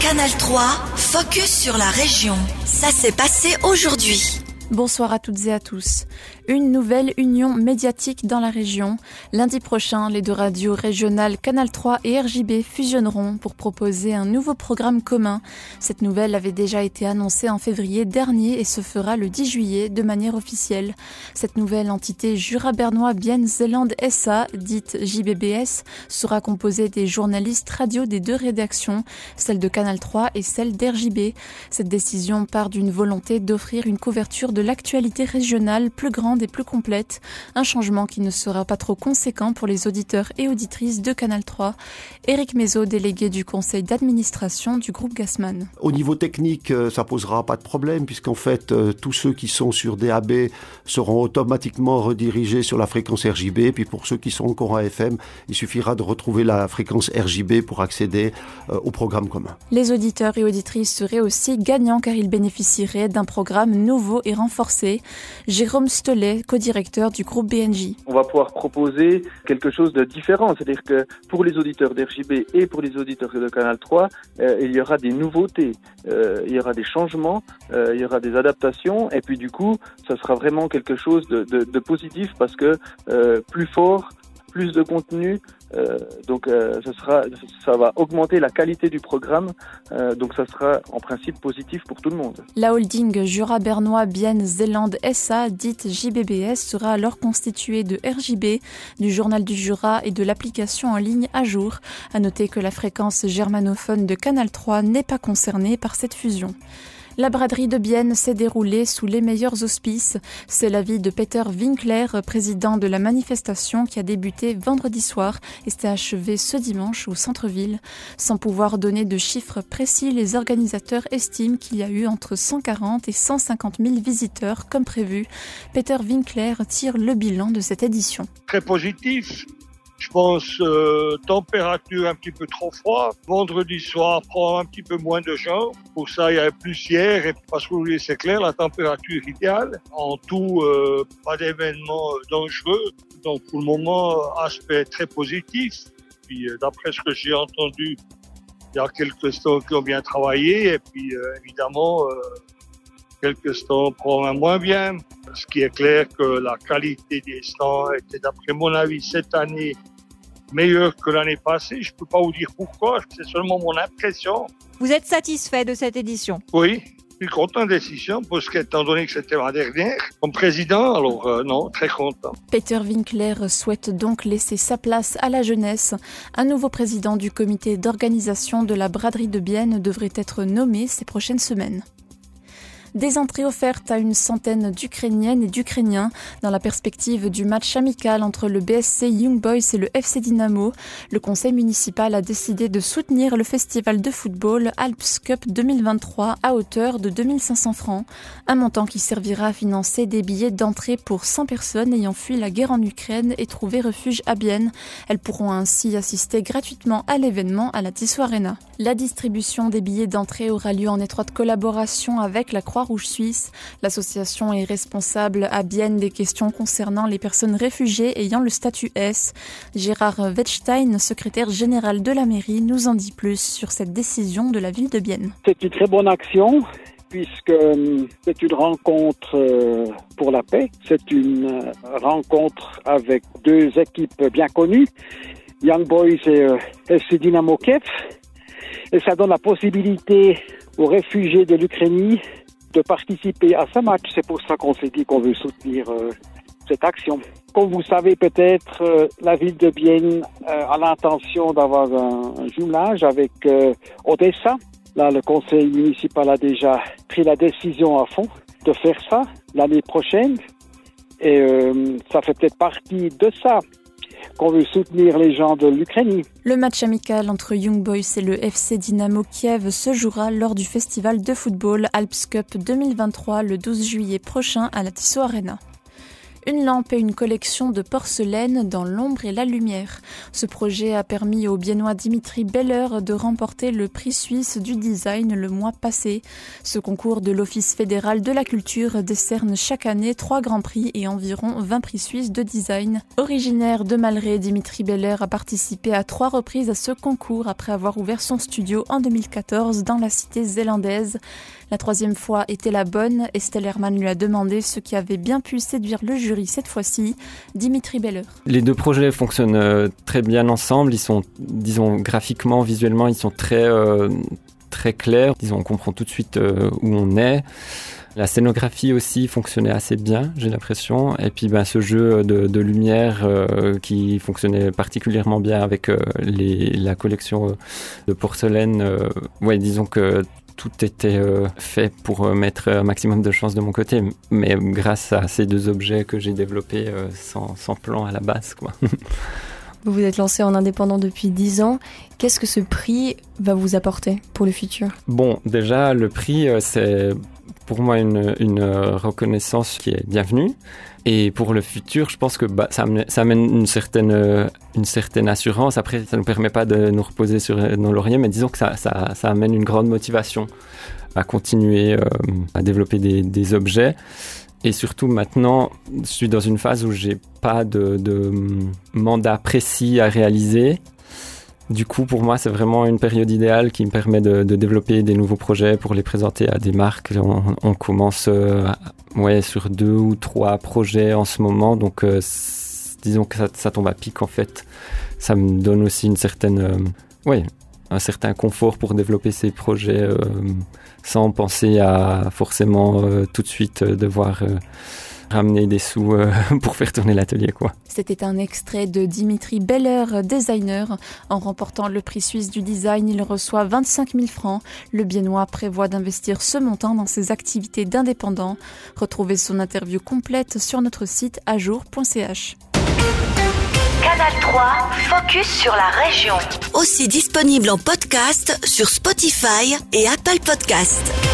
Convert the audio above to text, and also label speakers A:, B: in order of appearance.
A: Canal 3, focus sur la région. Ça s'est passé aujourd'hui.
B: Bonsoir à toutes et à tous. Une nouvelle union médiatique dans la région. Lundi prochain, les deux radios régionales Canal 3 et RJB fusionneront pour proposer un nouveau programme commun. Cette nouvelle avait déjà été annoncée en février dernier et se fera le 10 juillet de manière officielle. Cette nouvelle entité Jura-Bernois Bien Zeeland SA, dite JBBS, sera composée des journalistes radio des deux rédactions, celle de Canal 3 et celle d'RJB. Cette décision part d'une volonté d'offrir une couverture de l'actualité régionale plus grande et plus complète, un changement qui ne sera pas trop conséquent pour les auditeurs et auditrices de Canal 3. Éric Mézot, délégué du conseil d'administration du groupe Gassmann.
C: Au niveau technique, ça posera pas de problème puisqu'en fait, tous ceux qui sont sur DAB seront automatiquement redirigés sur la fréquence RJB. Puis pour ceux qui sont encore en FM, il suffira de retrouver la fréquence RJB pour accéder au programme commun.
B: Les auditeurs et auditrices seraient aussi gagnants car ils bénéficieraient d'un programme nouveau et renforcé. Jérôme Stollet, co-directeur du groupe BNJ.
D: On va pouvoir proposer quelque chose de différent, c'est-à-dire que pour les auditeurs d'RJB et pour les auditeurs de Canal 3, il y aura des nouveautés, il y aura des changements, il y aura des adaptations et puis du coup, ça sera vraiment quelque chose de positif parce que plus fort, plus de contenu, donc ça va augmenter la qualité du programme, donc ça sera en principe positif pour tout le monde.
B: La holding Jura-Bernois Bien Zeeland SA, dite JBBS, sera alors constituée de RJB, du Journal du Jura et de l'application en ligne À Jour. À noter que la fréquence germanophone de Canal 3 n'est pas concernée par cette fusion. La braderie de Bienne s'est déroulée sous les meilleurs auspices. C'est l'avis de Peter Winkler, président de la manifestation qui a débuté vendredi soir et s'est achevée ce dimanche au centre-ville. Sans pouvoir donner de chiffres précis, les organisateurs estiment qu'il y a eu entre 140 et 150 000 visiteurs comme prévu. Peter Winkler tire le bilan de cette édition.
E: Très positif. Je pense température un petit peu trop froid. Vendredi soir, prend un petit peu moins de gens. Pour ça, il y avait plus hier. Et parce que c'est clair, la température idéale. En tout, pas d'événements dangereux. Donc pour le moment, aspect très positif. Puis d'après ce que j'ai entendu, il y a quelques stands qui ont bien travaillé. Et puis évidemment, quelques stands probablement moins bien. Ce qui est clair que la qualité des stands était, d'après mon avis, cette année meilleure que l'année passée. Je ne peux pas vous dire pourquoi, c'est seulement mon impression.
F: Vous êtes satisfait de cette édition ?
E: Oui, je suis content de la décision, parce qu'étant donné que c'était ma dernière comme président, alors non, très content.
B: Peter Winkler souhaite donc laisser sa place à la jeunesse. Un nouveau président du comité d'organisation de la braderie de Bienne devrait être nommé ces prochaines semaines. Des entrées offertes à une centaine d'Ukrainiennes et d'Ukrainiens dans la perspective du match amical entre le BSC Young Boys et le FC Dynamo. Le conseil municipal a décidé de soutenir le festival de football Alps Cup 2023 à hauteur de 2500 francs. Un montant qui servira à financer des billets d'entrée pour 100 personnes ayant fui la guerre en Ukraine et trouvé refuge à Bienne. Elles pourront ainsi assister gratuitement à l'événement à la Tissot Arena. La distribution des billets d'entrée aura lieu en étroite collaboration avec la Croix-Rouge suisse. L'association est responsable à Bienne des questions concernant les personnes réfugiées ayant le statut S. Gérard Wettstein, secrétaire général de la mairie, nous en dit plus sur cette décision de la ville de Bienne.
G: C'est une très bonne action puisque c'est une rencontre pour la paix. C'est une rencontre avec deux équipes bien connues, Young Boys et FC Dynamo Kiev. Et ça donne la possibilité aux réfugiés de l'Ukraine de participer à ce match. C'est pour ça qu'on s'est dit qu'on veut soutenir cette action. Comme vous savez peut-être, la ville de Bienne a l'intention d'avoir un jumelage avec Odessa. Là, le conseil municipal a déjà pris la décision à fond de faire ça l'année prochaine. Et ça fait peut-être partie de ça qu'on veut soutenir les gens de l'Ukraine.
B: Le match amical entre Young Boys et le FC Dynamo Kiev se jouera lors du festival de football Alps Cup 2023 le 12 juillet prochain à la Tissot Arena. Une lampe et une collection de porcelaine dans l'ombre et la lumière. Ce projet a permis au Biennois Dimitri Beller de remporter le prix suisse du design le mois passé. Ce concours de l'Office fédéral de la culture décerne chaque année 3 grands prix et environ 20 prix suisses de design. Originaire de Malray, Dimitri Beller a participé à 3 reprises à ce concours après avoir ouvert son studio en 2014 dans la cité zélandaise. La 3e fois était la bonne. Estelle Hermann lui a demandé ce qui avait bien pu séduire le jury cette fois-ci. Dimitri Beller.
H: Les 2 projets fonctionnent très bien ensemble. Ils sont, disons, graphiquement, visuellement, ils sont très clairs. Disons, on comprend tout de suite où on est. La scénographie aussi fonctionnait assez bien, j'ai l'impression. Et puis ce jeu de lumière qui fonctionnait particulièrement bien avec la collection de porcelaine. Disons que tout était fait pour mettre un maximum de chance de mon côté. Mais grâce à ces 2 objets que j'ai développés sans plan à la base, quoi.
I: Vous vous êtes lancé en indépendant depuis 10 ans. Qu'est-ce que ce prix va vous apporter pour le futur ?
H: Bon, déjà, le prix, c'est pour moi une reconnaissance qui est bienvenue. Et pour le futur, je pense que ça amène une certaine assurance. Après, ça ne nous permet pas de nous reposer sur nos lauriers, mais disons que ça amène une grande motivation à continuer à développer des objets. Et surtout maintenant, je suis dans une phase où j'ai pas de mandat précis à réaliser. Du coup, pour moi, c'est vraiment une période idéale qui me permet de développer des nouveaux projets pour les présenter à des marques. On commence sur 2 ou 3 projets en ce moment. Donc, disons que ça tombe à pic, en fait. Ça me donne aussi un certain confort pour développer ces projets sans penser à forcément tout de suite devoir ramener des sous pour faire tourner l'atelier, quoi.
B: C'était un extrait de Dimitri Beller, designer. En remportant le prix suisse du design, il reçoit 25 000 francs. Le Biennois prévoit d'investir ce montant dans ses activités d'indépendant. Retrouvez son interview complète sur notre site ajour.ch.
A: Canal 3, focus sur la région. Aussi disponible en podcast sur Spotify et Apple Podcasts.